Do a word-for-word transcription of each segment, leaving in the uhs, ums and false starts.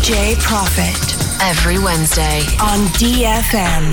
J Prophet every Wednesday on D F M.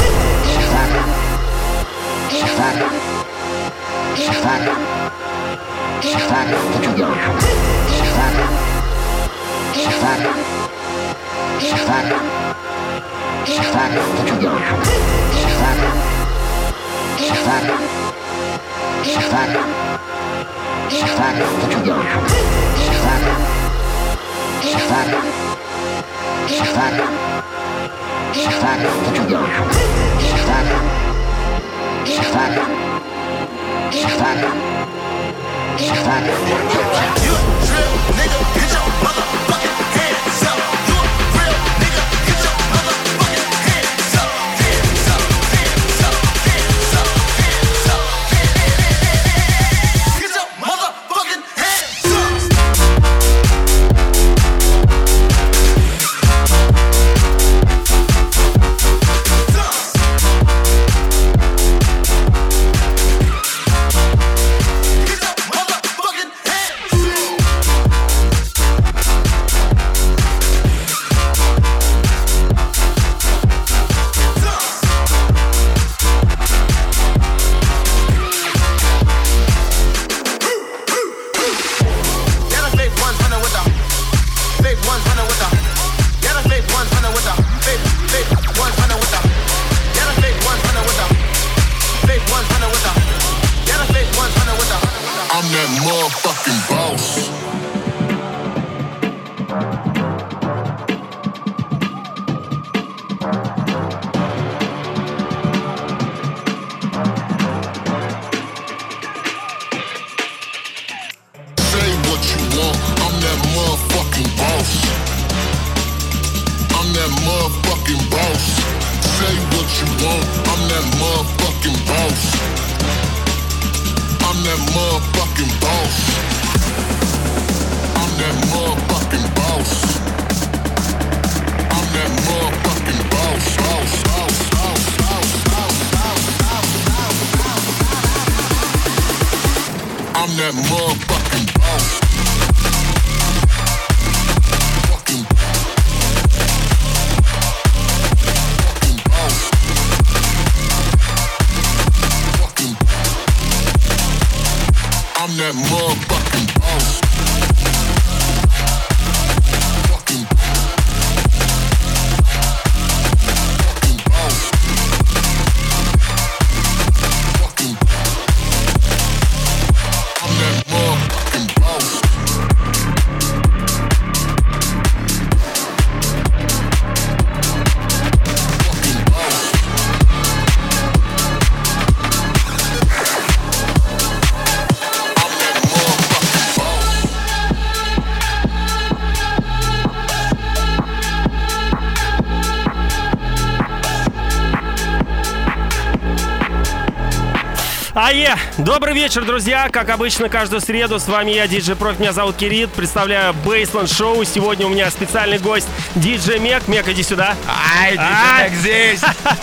Ае! Добрый вечер, друзья! Как обычно, каждую среду с вами я, диджей Профи, меня зовут Кирит. Представляю Бейсленд Шоу. Сегодня у меня специальный гость, диджей Мек. Мек, иди сюда. Ай, диджей Мек здесь!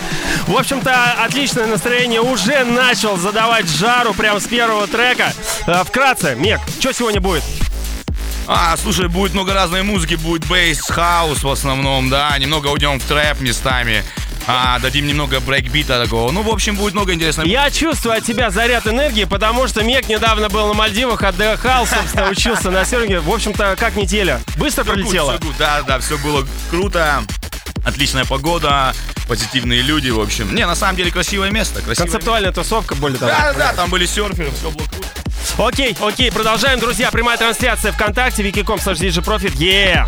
В общем-то, отличное настроение. Уже начал задавать жару прямо с первого трека. Вкратце, Мек, что сегодня будет? А, слушай, будет много разной музыки. Будет бейс, хаус в основном, да. Немного уйдем в трэп местами. А, дадим немного брейкбита такого. Ну, в общем, будет много интересного. Я чувствую от тебя заряд энергии, потому что Мек недавно был на Мальдивах, отдыхал, собственно, учился на серфинге. В общем-то, как неделя. Быстро пролетела? Да, да, все было круто. Отличная погода, позитивные люди, в общем. Не, на самом деле, красивое место. Красивое Концептуальная место. Тусовка, более того. Да, да, там были серферы, все было круто. Окей, окей, продолжаем, друзья. Прямая трансляция ВКонтакте, вики точка ком слэш диджей профит. Yeah!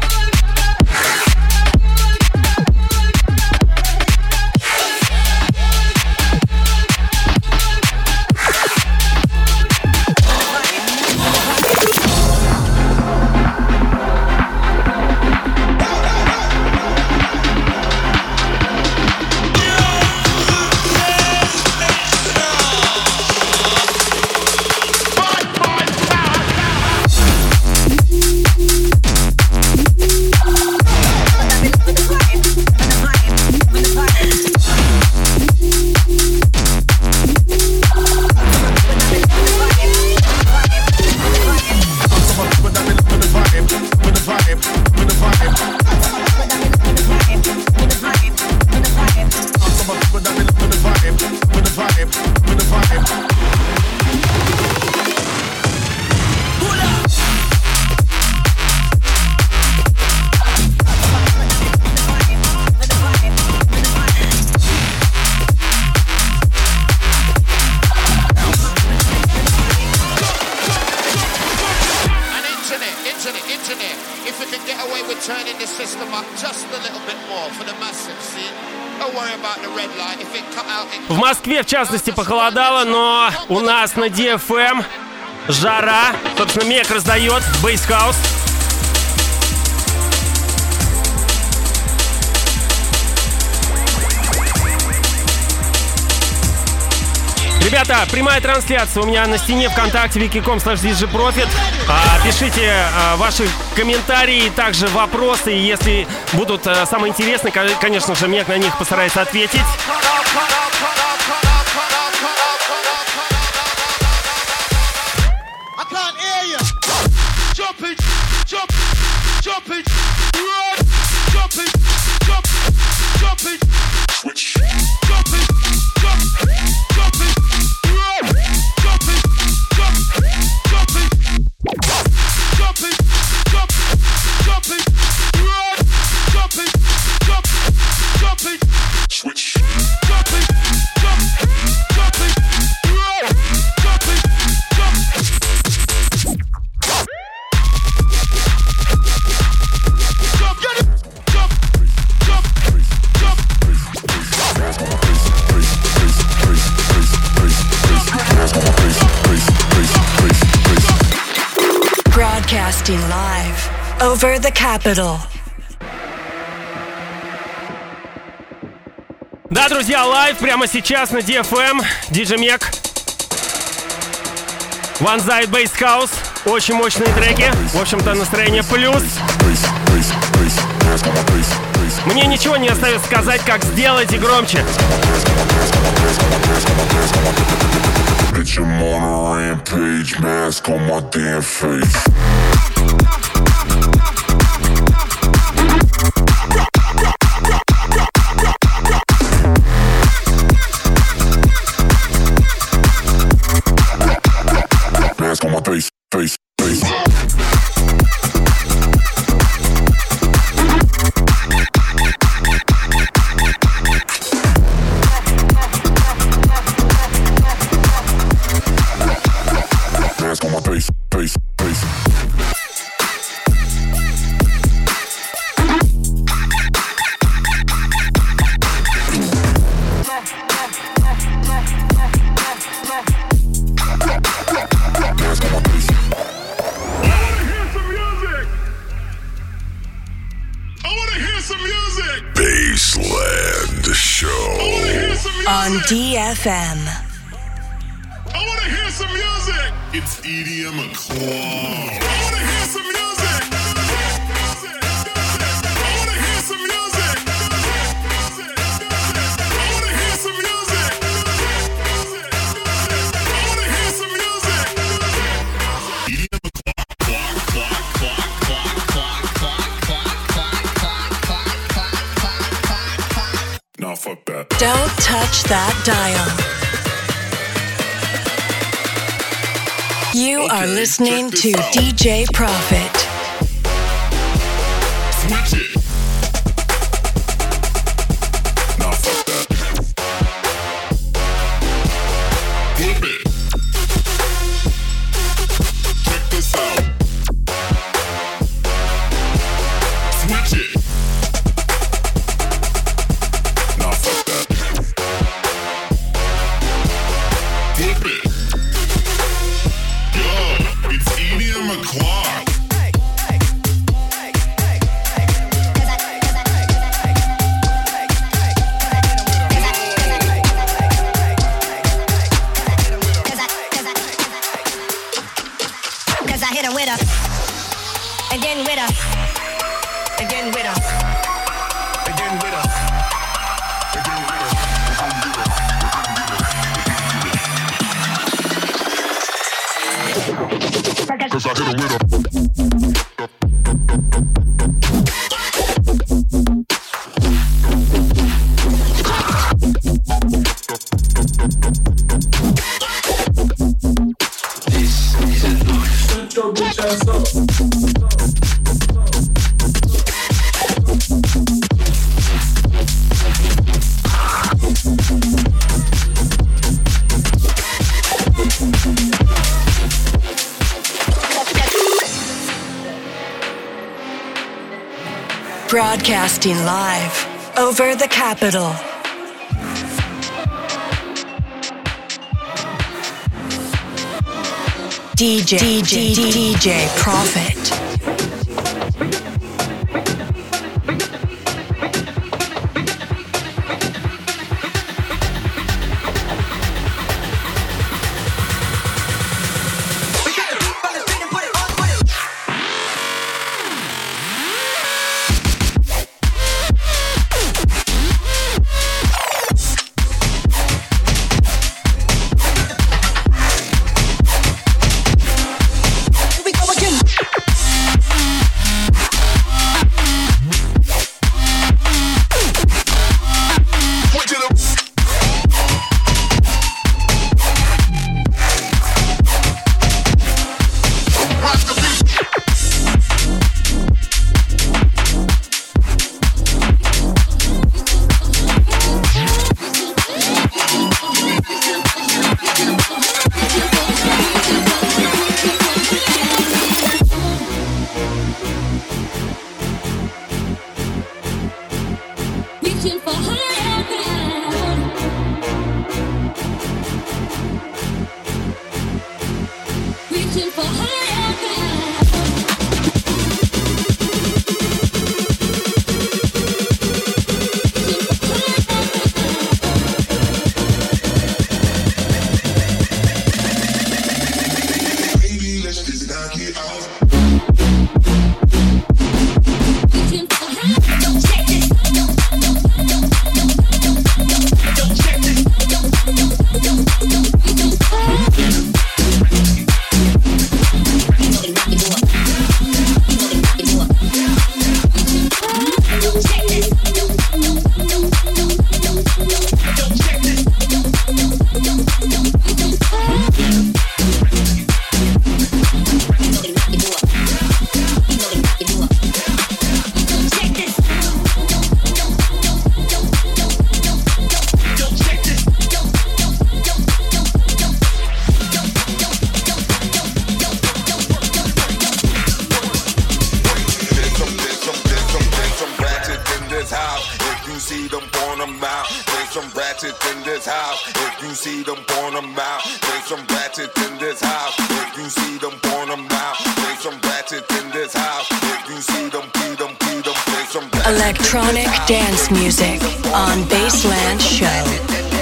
We'll be right back. engineer, if we can get away with turning the system up just a little bit more for the massive scene. Don't worry about the red light. If it cut out, it... В Москве, в частности, похолодало, но у нас на ди эф эм жара. Собственно, Мек раздает бейс-хаус. Ребята, прямая трансляция у меня на стене ВКонтакте wiki точка com слэш диджейпрофит. А, пишите а, ваши комментарии, также вопросы. Если будут а, самые интересные, конечно же, Мек на них постарается ответить. Broadcasting live over the capital. Да, друзья, лайв прямо сейчас на ди эф эм. диджей Мек. One Side Bass House. Очень мощные треки. В общем-то, настроение плюс. Мне ничего не остается сказать, как сделайте громче. Bitch, I'm on a rampage, mask on my damn face. Mask on my face, face, face. Mask on my face, face, face. Baseland Show On D F M. I wanna hear some music. It's E D M o'clock. I wanna hear some music. I wanna hear some music. I wanna hear some music. I wanna hear some music. E D M o'clock, clock, clock, clock, clock, clock, clock, clock, clock, clock, clock, clock, clock, clock. Nah, fuck that. Don't touch that dial. You Okay, are listening check to this out. D J Profit. Switch it. Nah, fuck that. Flip it. Check this out. Switch it. Nah, fuck that. Flip it. Yo, it's E D M o'clock. Cause I hit her with her, again with her, again with her, again with her, again with her. Cause I hit him with a Broadcasting live over the capital. D J D J D J Profit. Electronic dance music on Baseland Show.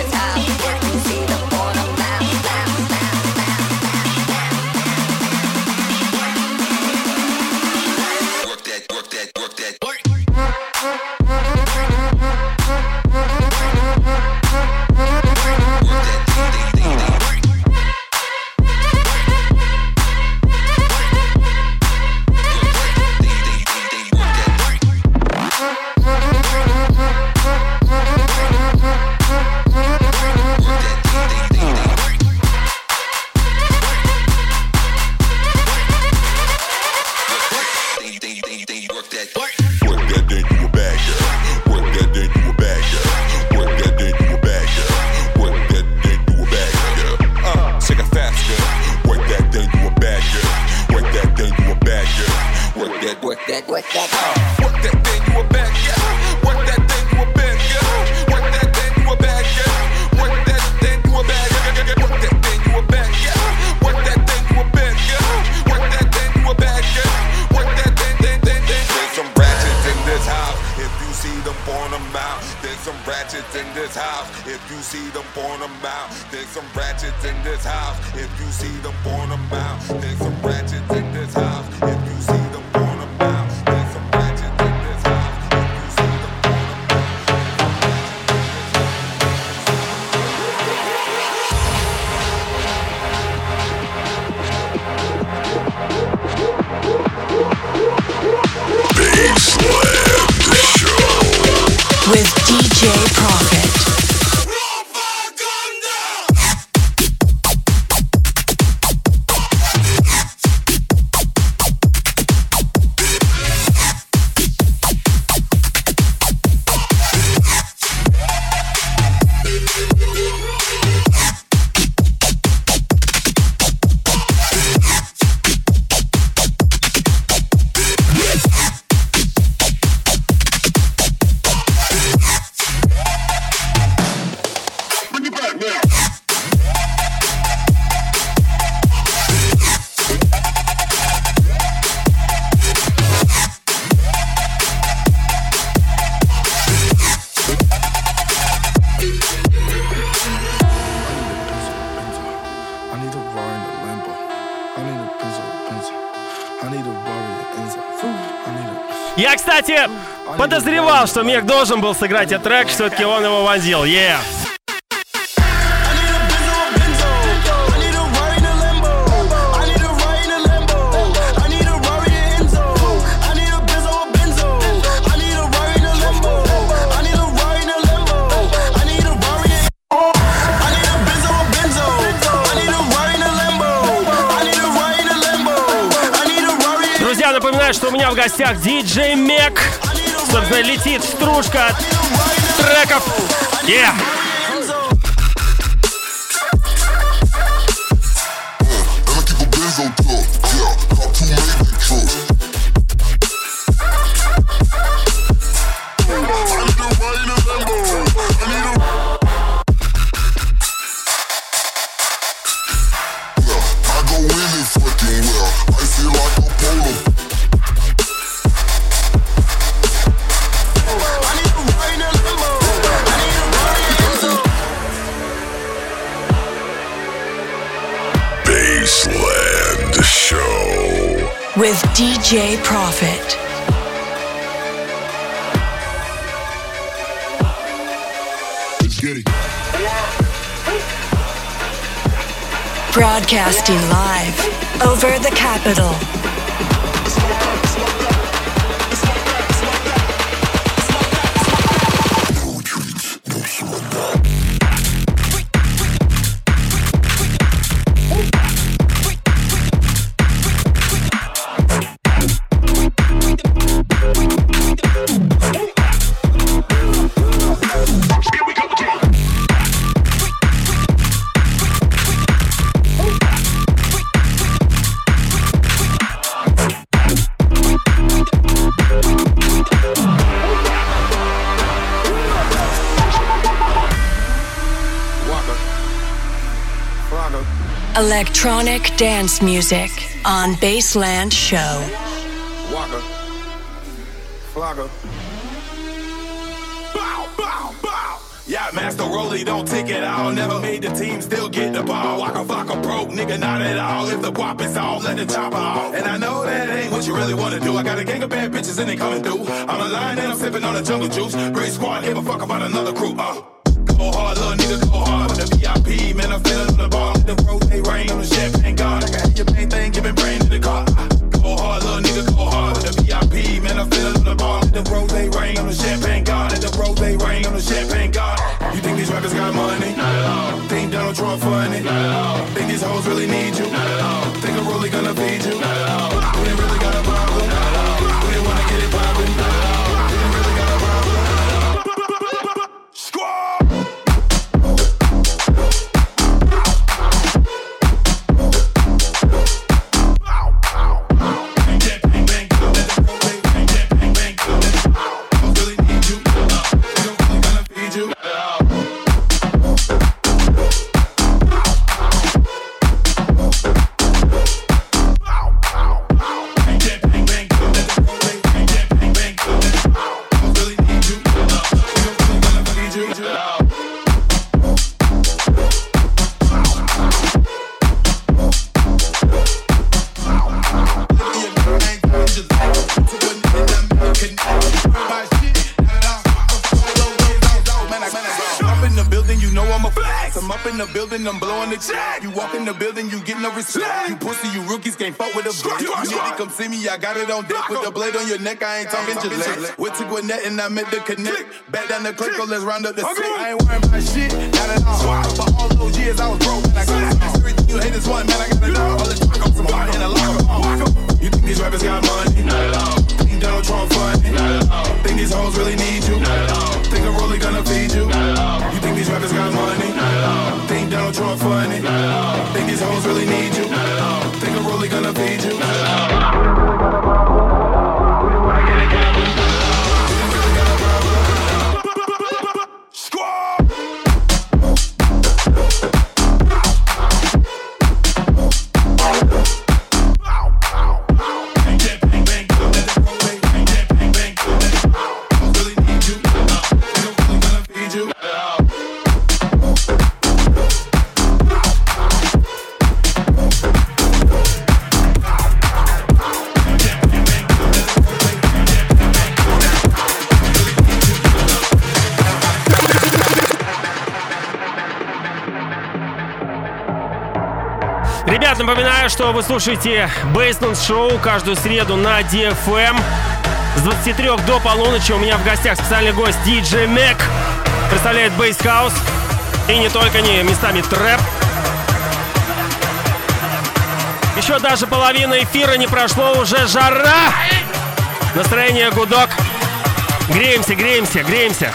With D J Profit. Я, кстати, подозревал, что Мех должен был сыграть этот трек, все-таки он его вонзил. Yeah. Напоминаю, что у меня в гостях диджей Мех. Собственно, летит стружка от треков. Yeah. With ди джей Profit. Let's get it. Broadcasting live over the capital. Electronic dance music on Baseland Show. Waka, Flocka. Bow, bow, bow. Yeah, Master Rolly don't take it out. Never made the team, still get the ball. Waka Flocka broke, nigga, not at all. If the whop is off, let the chopper off. And I know that ain't what you really wanna do. I got a gang of bad bitches and they coming through. I'm a lion and I'm sipping on the jungle juice. Great squad, give a fuck about another crew. Uh. Go hard, little nigga, go hard. With the V I P, man, I'm feeling on the bar. The rose, they rain on the champagne guard. I got your main thing, giving brain to the car. Go hard, little nigga, go hard. With the V I P, man, I'm feeling on the bar. The rose, they rain on the champagne guard. The rose, they rain on the champagne guard. You think these rappers got money? Not at all. Think Donald Trump funny? Not at all. Think these hoes really need you? Not at all. Think I'm really gonna feed you? Not at all. We ain't really got a problem. Not at all. We ain't wanna get it poppin'. Not at all. We ain't really got a problem. Squad! I'm blowing the check. You walk in the building, you get no respect. You pussy, you rookies can't fuck with a bitch. You nigga come see me, I got it on deck. With the blade on your neck, I ain't talking Gillette. Went to Gwinnett and I met the connect. Back down the click, let's round up the set. I ain't worrying about shit, not at all. For all those years I was broke and I got it. Everything you hate is one, man, I got it all. All the talk up some bar in a locker. You think these rappers got money? Not at all. Think Donald Trump funny? Not at all. Think these hoes really need you? Not at all. Think I'm really gonna feed you? Not at all. You think these rappers got money? Not at all. Think Donald Trump funny? Not at all. Think these hoes really need you? Not at all. Think I'm really gonna feed you? Not at all. We really wanna get it going. We really got a problem. Squad! Bang, bang, bang, напоминаю, что вы слушаете Bassland Show каждую среду на ди эф эм. С двадцати трёх до полуночи у меня в гостях специальный гость диджей Mac. Представляет Bass House. И не только, не местами трэп. Еще даже половина эфира не прошло, уже жара. Настроение гудок. Греемся, греемся, греемся.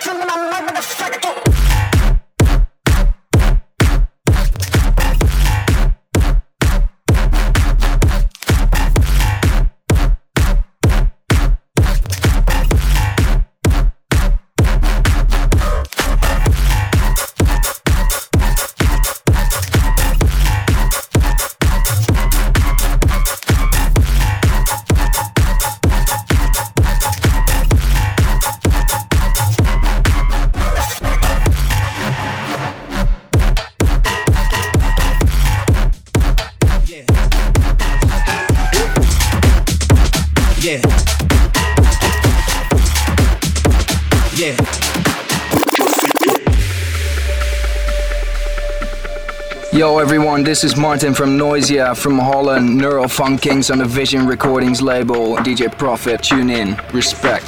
Yo everyone, this is Martin from Noisia from Holland, Neural Funk Kings on the Vision Recordings label, ди джей Prophet, tune in, respect.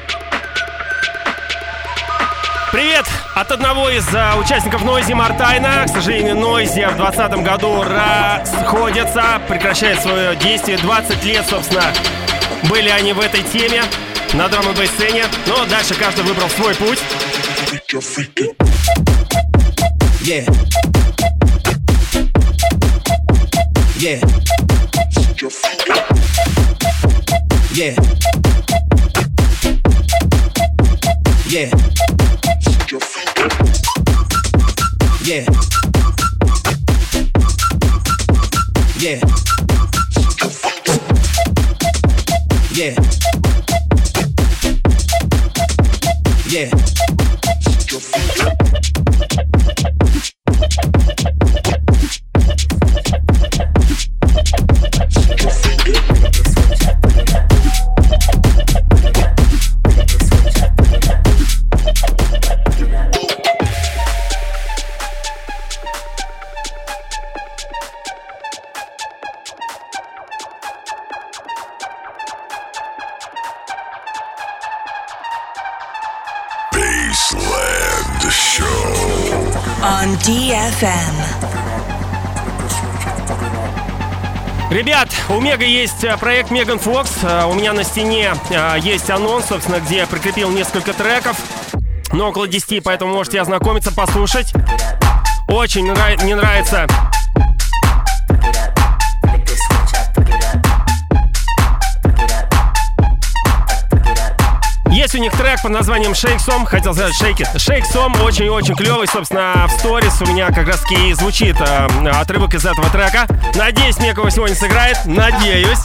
Привет от одного из uh, участников Noisia, Мартайна. К сожалению, Noisia в двадцатом году расходятся, прекращает свое действие. двадцать лет, собственно, были они в этой теме, на драм-н-бейс-сцене. Но дальше каждый выбрал свой путь. Yeah. Yeah. Yeah. Yeah. Yeah. Yeah. Yeah. Yeah. Bassland Show on ди эф эм. Ребят, у Мега есть проект Megan Fox. У меня на стене есть анонс, собственно, где я прикрепил несколько треков. Но около десяти, поэтому можете ознакомиться, послушать. Очень нрав... мне нравится. Есть у них трек под названием Shake Some. Хотел сказать Shake It. Shake Some очень-очень клевый. Собственно, в сторис у меня как раз таки и звучит э, отрывок из этого трека. Надеюсь, Мега его сегодня сыграет. Надеюсь.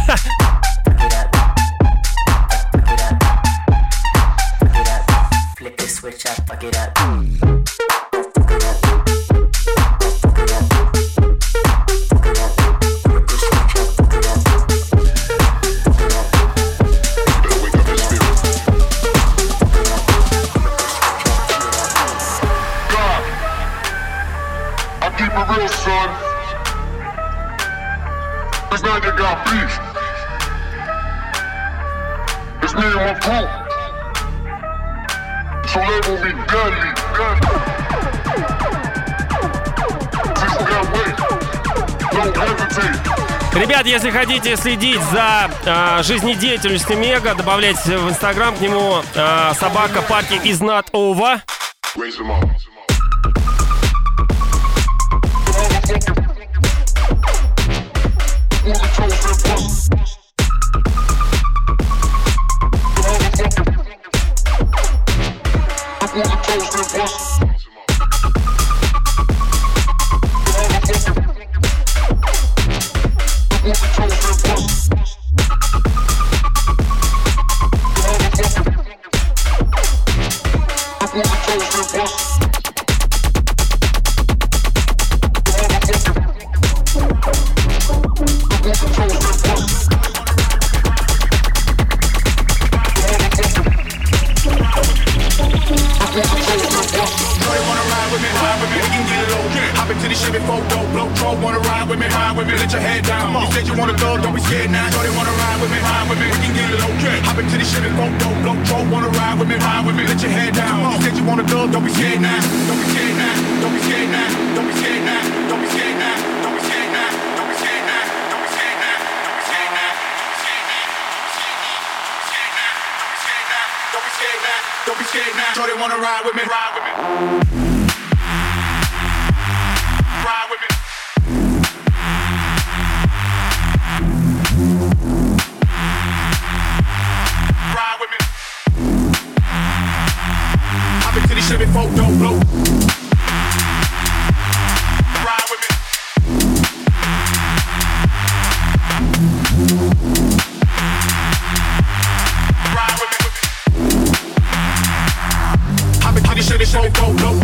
Ребят, если хотите следить за э, жизнедеятельностью Мега, добавляйте в Инстаграм к нему э, собака Party is not over. Yeah. your head down. You said you wanna go, don't be scared now. So they wanna ride with me, ride with me. We can get it okay. Hop into the Chevy, go, go, blow, blow. Wanna ride with me, ride with me. Let your head down. You said you wanna go, don't be scared now. Don't be scared now. Don't be scared now. Don't be scared now. Don't be scared now. Don't be scared now. Don't be scared now. Don't be scared now. Don't be scared now. Don't be scared now. Don't be scared now. So they wanna ride with me, ride with me. Ride with me. Ride with me. Hop into the Chevy, folk, don't blow. Ride with me. Ride with me. Hop into the Chevy, folk, don't blow.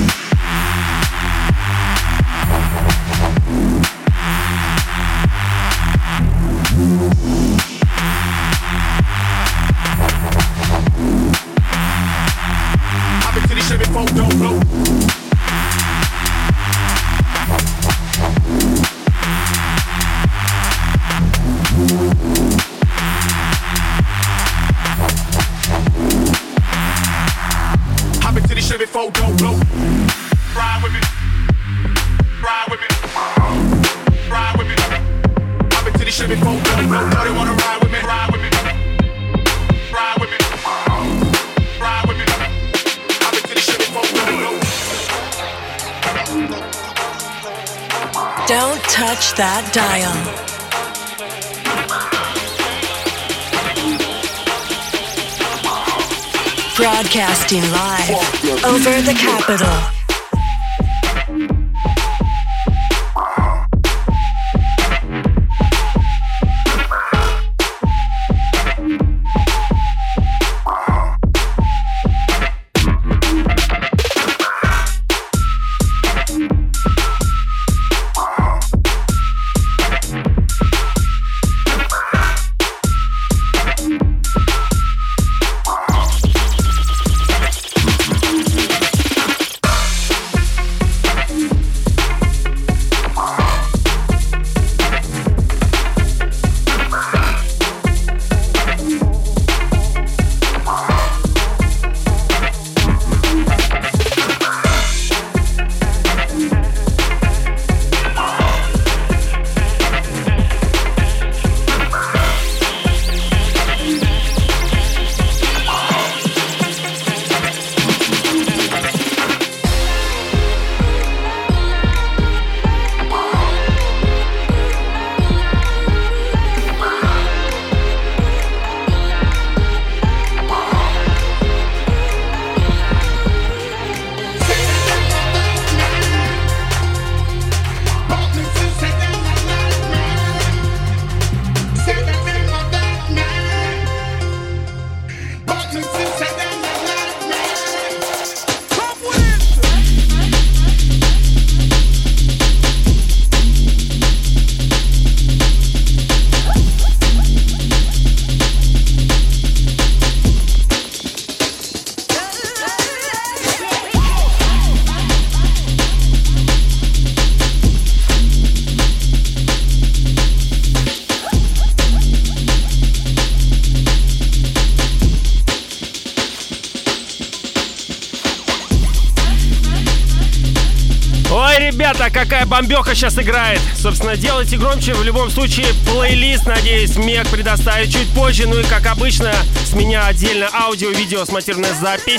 Chevy folk don't blow. Hop into the Chevy folk don't blow. Ride with me. Ride with me. Ride with me. Hop into the Chevy folk don't blow. Know they wanna ride with me. Ride with me. Ride with me. Ride with me. Don't touch that dial. Broadcasting live over the capital. Ребята, какая бомбеха сейчас играет. Собственно, делайте громче. В любом случае, плейлист, надеюсь, Мег предоставит чуть позже. Ну и, как обычно, с меня отдельно аудио-видео смонтированная запись.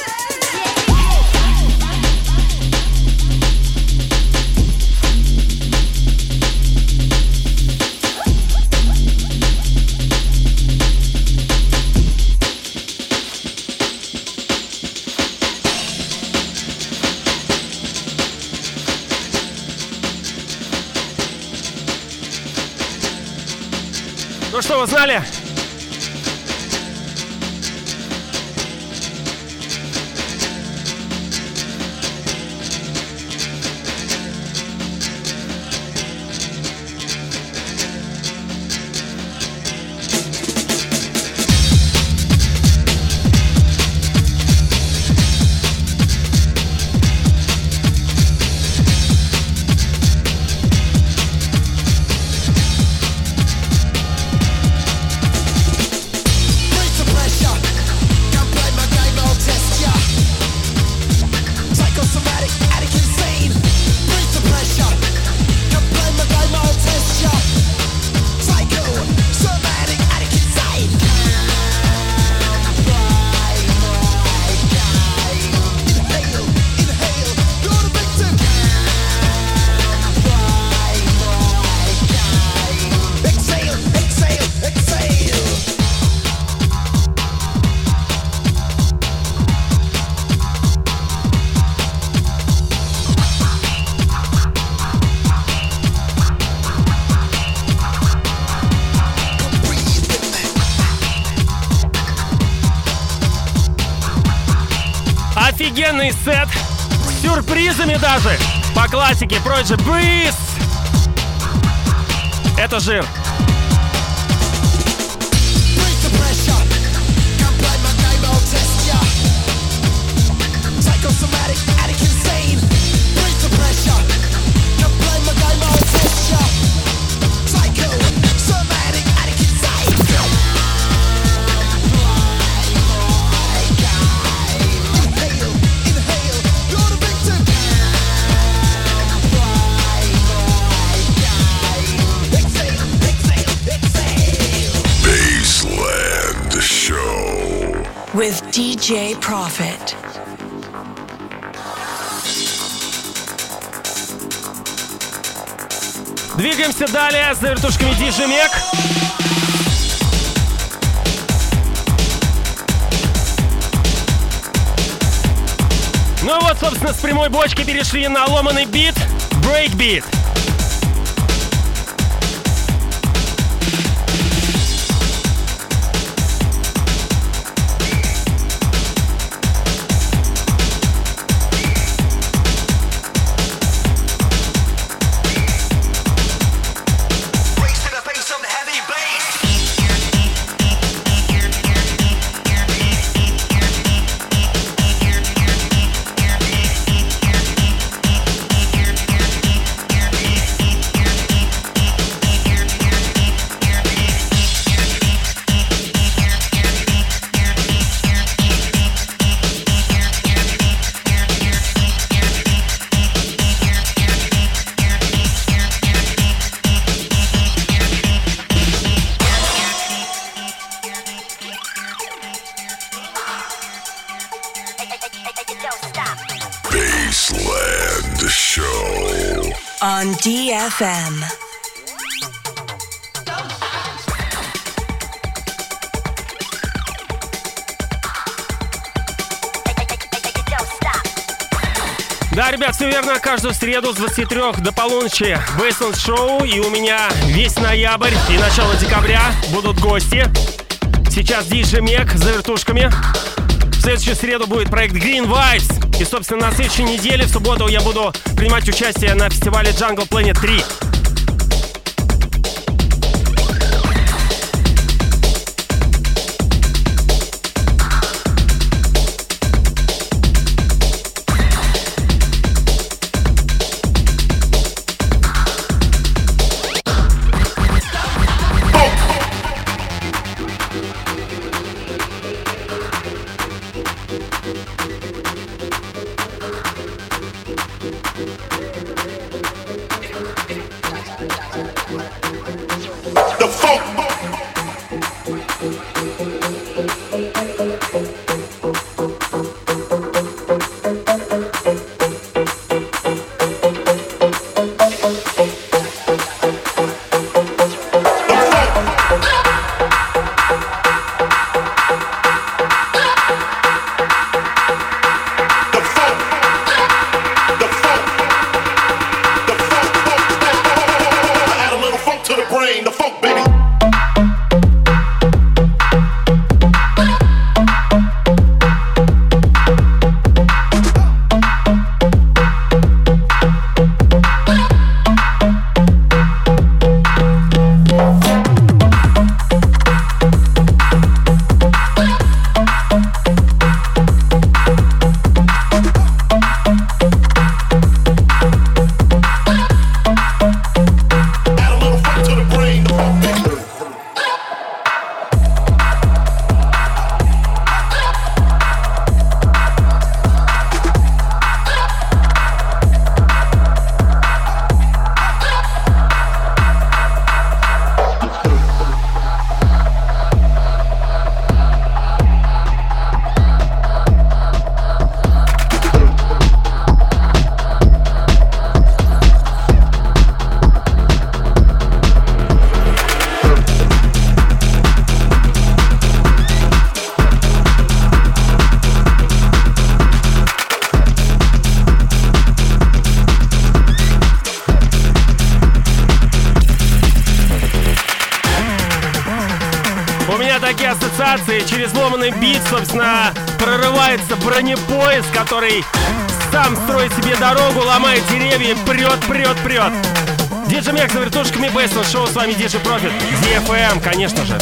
Ну что, вы знали? офигенный сет с сюрпризами даже. По классике Project Breeze. Это жир. Psychosomatic, addict, insane. Breathe the pressure. Can play my game, I'll test ya. Psycho, somatic, addict, insane. Inhale, inhale, you're the victim. Exhale, exhale, exhale. Baseland Show with ди джей Profit. Двигаемся далее с вертушками ди джей Meg. Ну вот, собственно, с прямой бочки перешли на ломаный бит, брейкбит. Baseland Show on ди эф эм. Да, ребят, все верно. Каждую среду с двадцати трёх до полуночи Baseland Show. И у меня весь ноябрь и начало декабря будут гости. Сейчас ди джей Meg за вертушками. В следующую среду будет проект Green Vibes. И, собственно, на следующей неделе, в субботу, я буду принимать участие на фестивале Jungle Planet три. Через ломаный бит, собственно, прорывается бронепоезд, который сам строит себе дорогу, ломает деревья, прет, прет, прет. Диджей Мег за вертушками Бейсл Шоу, с вами Диджей Профит, ди эф эм, конечно же.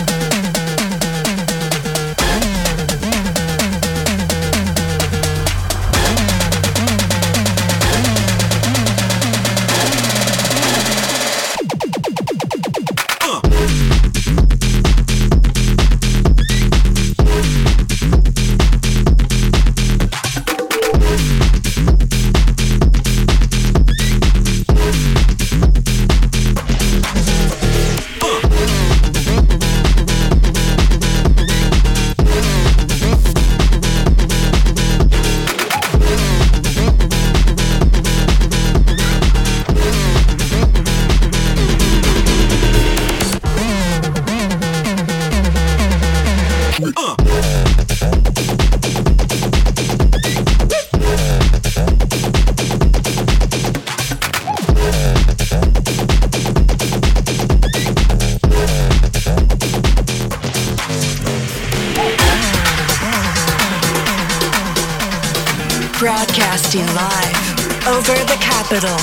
Broadcasting live over the capital.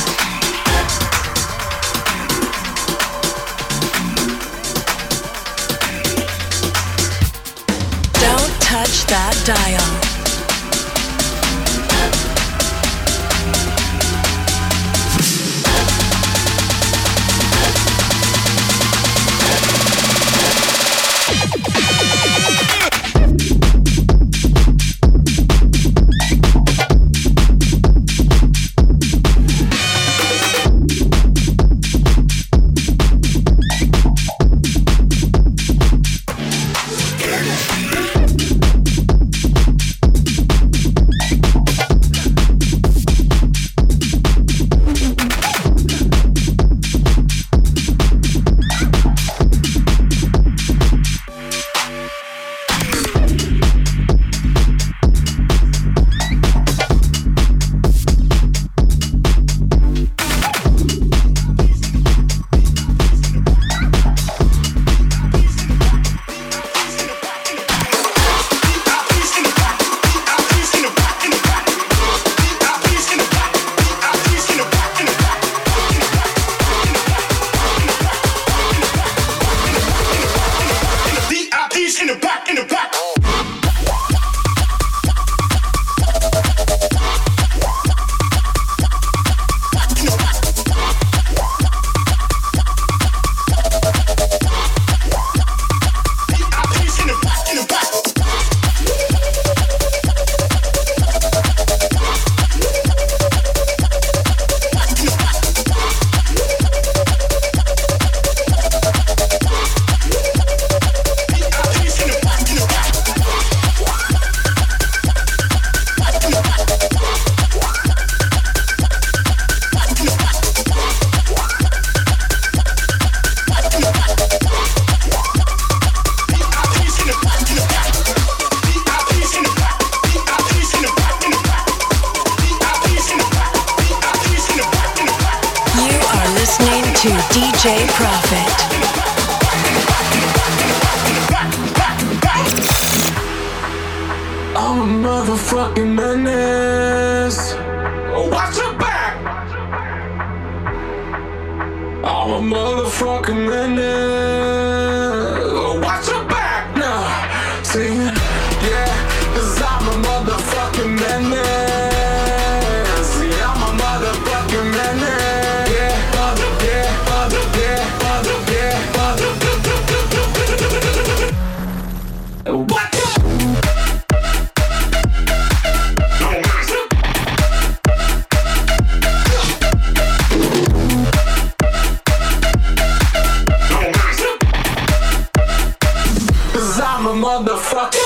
Don't touch that dial. To D J Profit. I'm a motherfucking menace. Watch your back. I'm a motherfucking menace. Watch your back. Nah, see, yeah, 'cause I'm a motherfucking menace. Yeah, I'm a motherfucking menace. Motherfucker.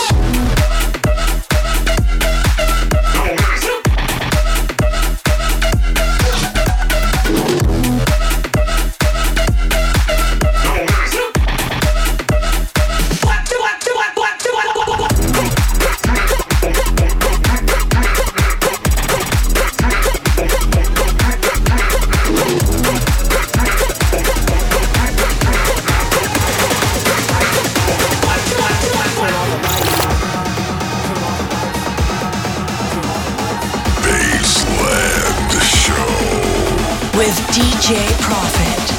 ди джей Profit.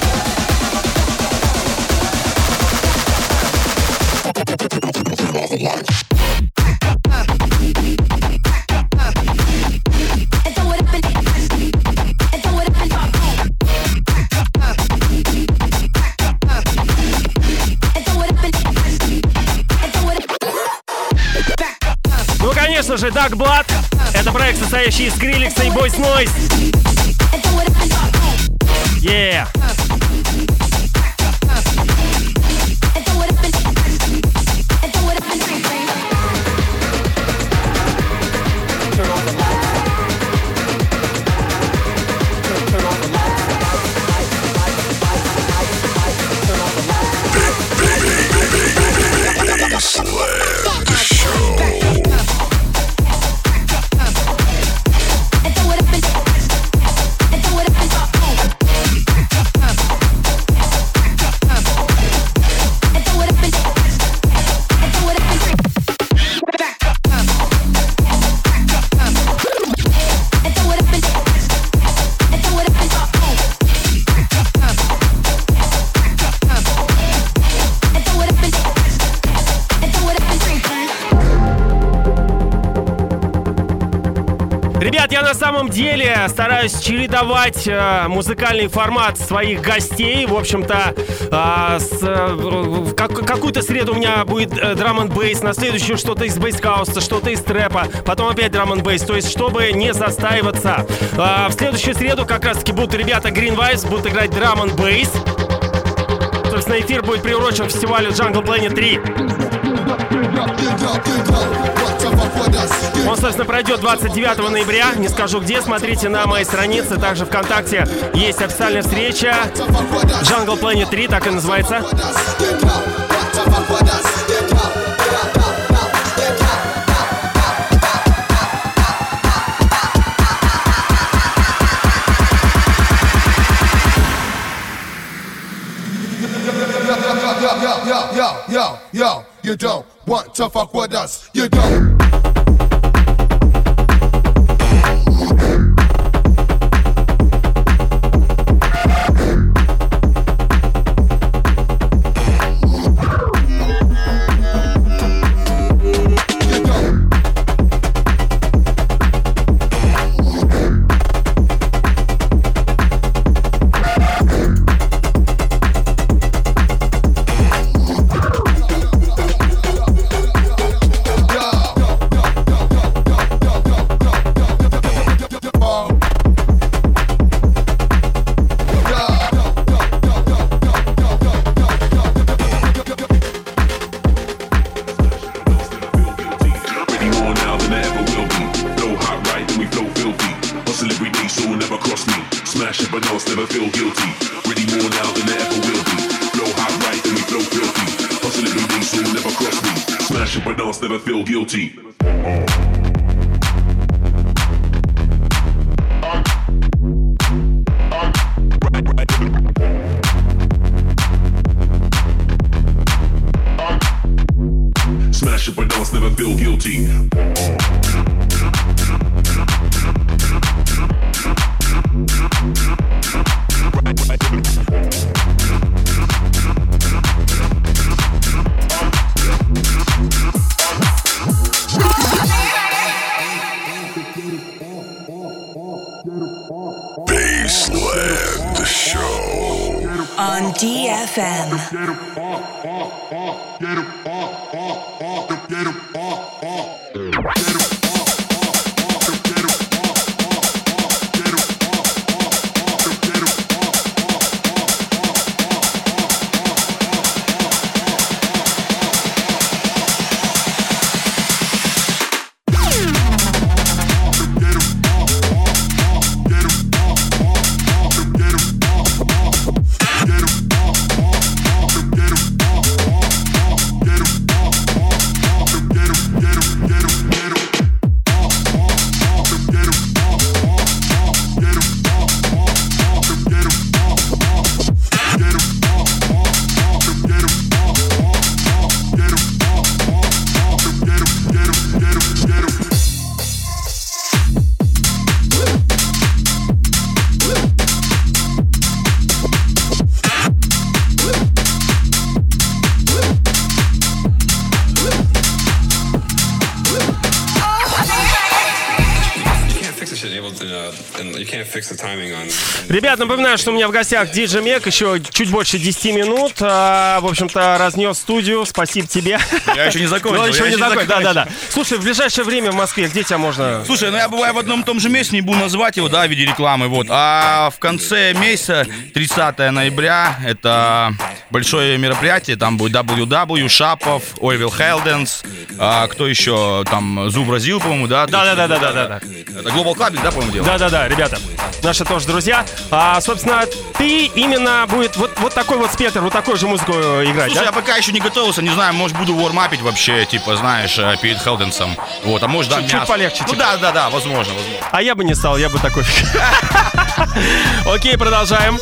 Ну, конечно же, Dark Blood. Это проект, состоящий из Skrillex и Boys Noise. Yeah. Ребят, я на самом деле стараюсь чередовать э, музыкальный формат своих гостей. В общем-то, э, с, э, как, какую-то среду у меня будет э, драм энд бейс, на следующую что-то из бейс-хауса, что-то из трэпа, потом опять драм энд бейс. То есть, чтобы не застаиваться. Э, в следующую среду как раз-таки будут ребята Green Vibes, будут играть драм энд бейс. Собственно, эфир будет приурочен к фестивалю Jungle Planet три. Он, собственно, пройдет двадцать девятого ноября. Не скажу где, смотрите на моей странице. Также ВКонтакте есть официальная встреча Jungle Planet три, так и называется. Yo, yo, yo, yo, you don't want to fuck with us, you don't. On D F M. Ребят, напоминаю, что у меня в гостях диджей Мек, еще чуть больше десяти минут. А, в общем-то, разнес студию. Спасибо тебе. Я еще не закончил. Ну, еще я не еще закончил, закончил. да-да-да. Слушай, в ближайшее время в Москве, где тебя можно... Слушай, ну я бываю в одном и том же месте, не буду называть его, да, в виде рекламы, вот. А в конце месяца, тридцатого ноября, это большое мероприятие, там будет дабл ю дабл ю, Шапов, Ойвил Хелденс, а, кто еще, там, Зу Бразил, по-моему, да? Да-да-да-да-да-да. Это Global Clubbing, да, по-моему, дело? Да-да-да, ребята, наши тоже друзья. А, собственно, ты именно будет вот, вот такой вот спектр, вот такую же музыку играть, Слушай, да? я пока еще не готовился, не знаю, может, буду вормапить вообще, типа, знаешь, перед Хелденсом. Вот, а может, да, Чуть-чуть мясо. полегче, Ну, типа. да-да-да, возможно, возможно. А я бы не стал, я бы такой... Окей, продолжаем.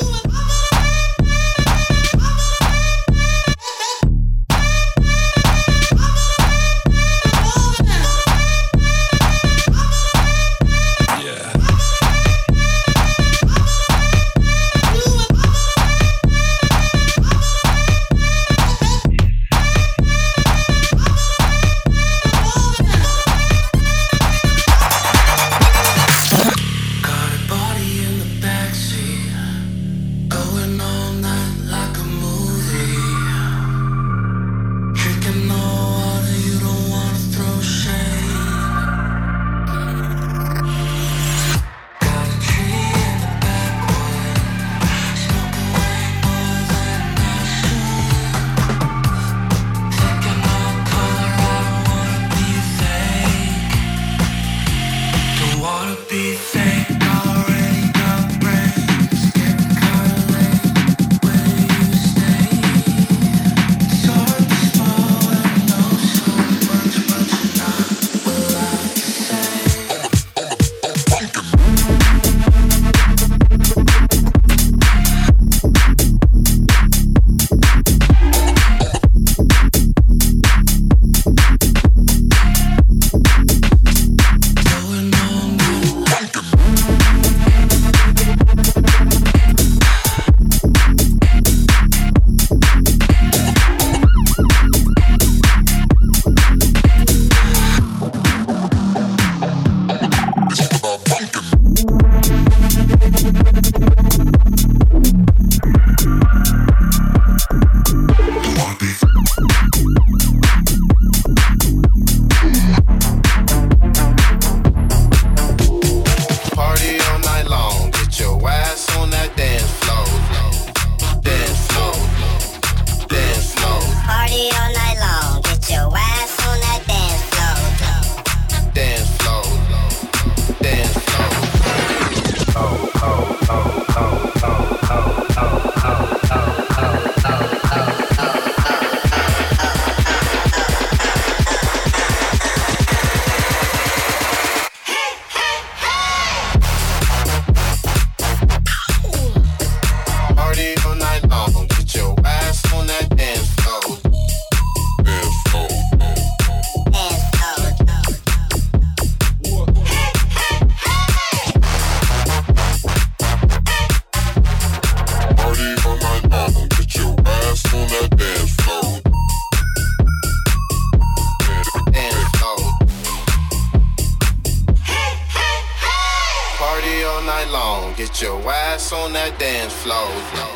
Get your ass on that dance floor.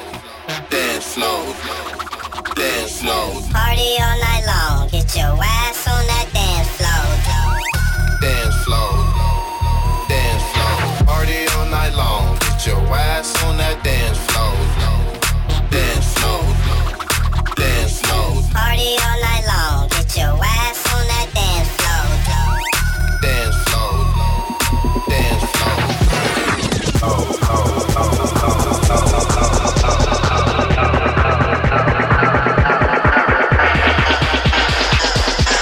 Dance floor. Dance floor. Party all night long. Get your ass on that dance floor. Dance floor. Dance floor. Party all night long. Get your ass on that dance floor. Dance floor. Dance floor. Party all night long. Get your ass on that dance floor. Dance floor. Dance floor. Oh, oh, oh, oh, oh, oh, oh.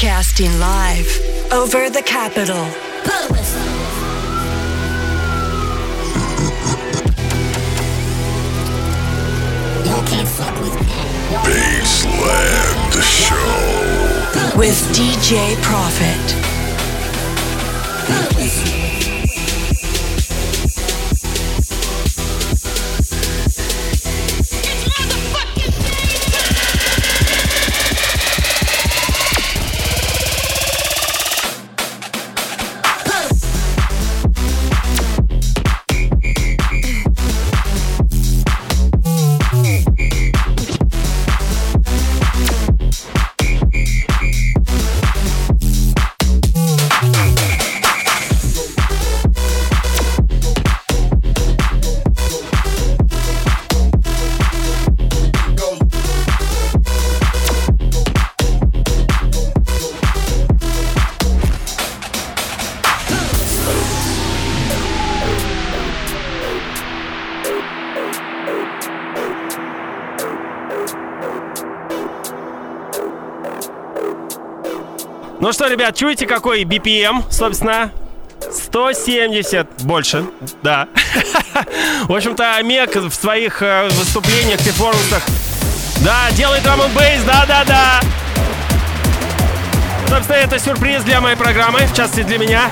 Broadcasting live over the capital. Baseland Show with D J Profit. Ну что, ребят, чуете, какой би пи эм, собственно? сто семьдесят больше, да. В общем-то, Мег в своих э, выступлениях, перформансах, да, делает драм-н-бейс, да-да-да. Собственно, это сюрприз для моей программы, в частности для меня.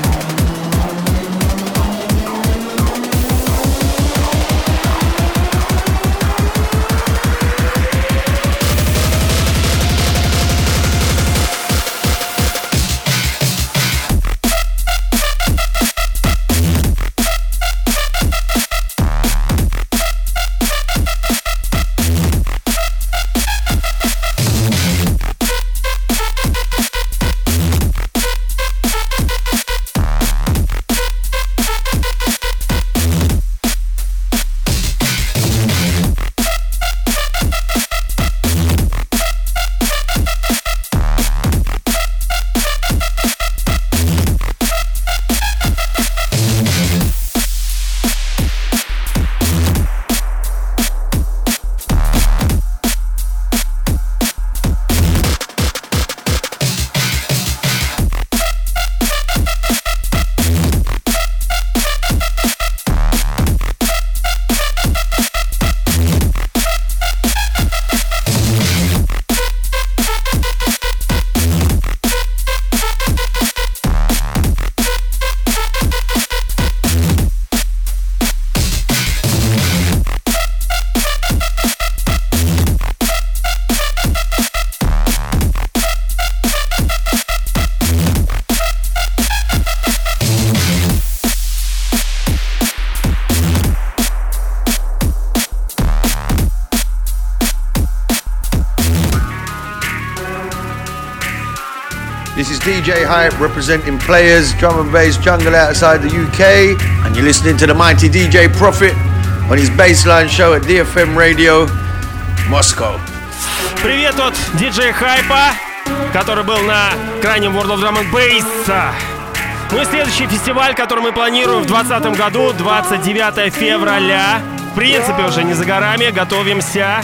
This is D J Hype representing Players, Drum and Bass Jungle outside the U K, and you're listening to the mighty D J Profit on his Baseline show at ди эф эм Radio, Moscow. Привет от ди джей Hype, который был на крайнем World of Drum and Bass. Ну и следующий фестиваль, который мы планируем в двадцатом году, двадцать девятого февраля. В принципе, уже не за горами, готовимся.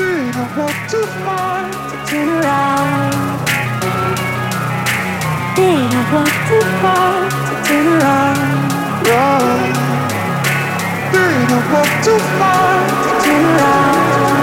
Didn't walk too far to turn around. Didn't walk too far to turn around.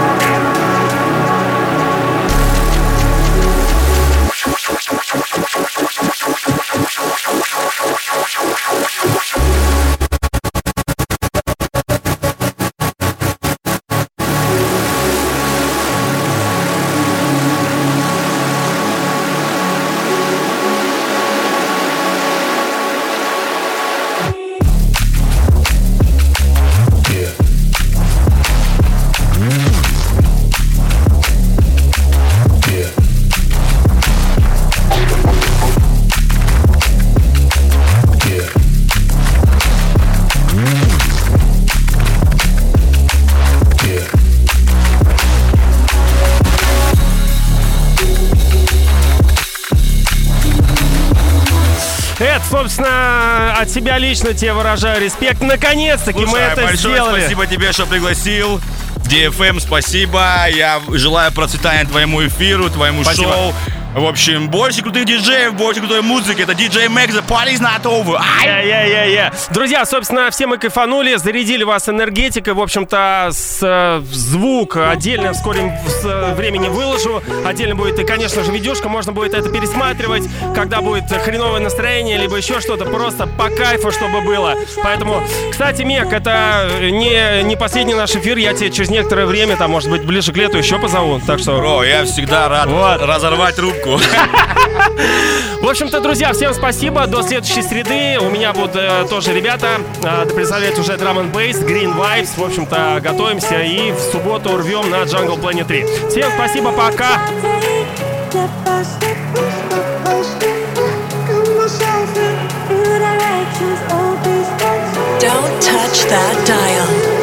Собственно, от себя лично тебе выражаю респект. Наконец-таки Слушай, мы это большое сделали. Спасибо тебе, что пригласил. ди эф эм, спасибо. Я желаю процветания твоему эфиру, твоему спасибо. шоу. В общем, больше крутых диджеев, больше крутой музыки. Это диджей Мэг, the party's not over. Yeah, yeah, yeah, yeah. Друзья, собственно, все мы кайфанули, зарядили вас энергетикой. В общем-то, с, э, звук отдельно в скором времени выложу. Отдельно будет и, конечно же, видюшка. Можно будет это пересматривать, когда будет хреновое настроение, либо еще что-то. Просто по кайфу, чтобы было. Поэтому, кстати, Мек, это не, не последний наш эфир. Я тебе через некоторое время, там, может быть, ближе к лету еще позову. Так что... Бро, я всегда рад вот. разорвать трубку. В общем-то, друзья, всем спасибо. До следующей среды. У меня будут э, тоже ребята э, представлять уже Drum and Bass, Green Vibes. В общем-то, готовимся и в субботу рвем на Jungle Planet три. Всем спасибо, пока. Don't touch that dial.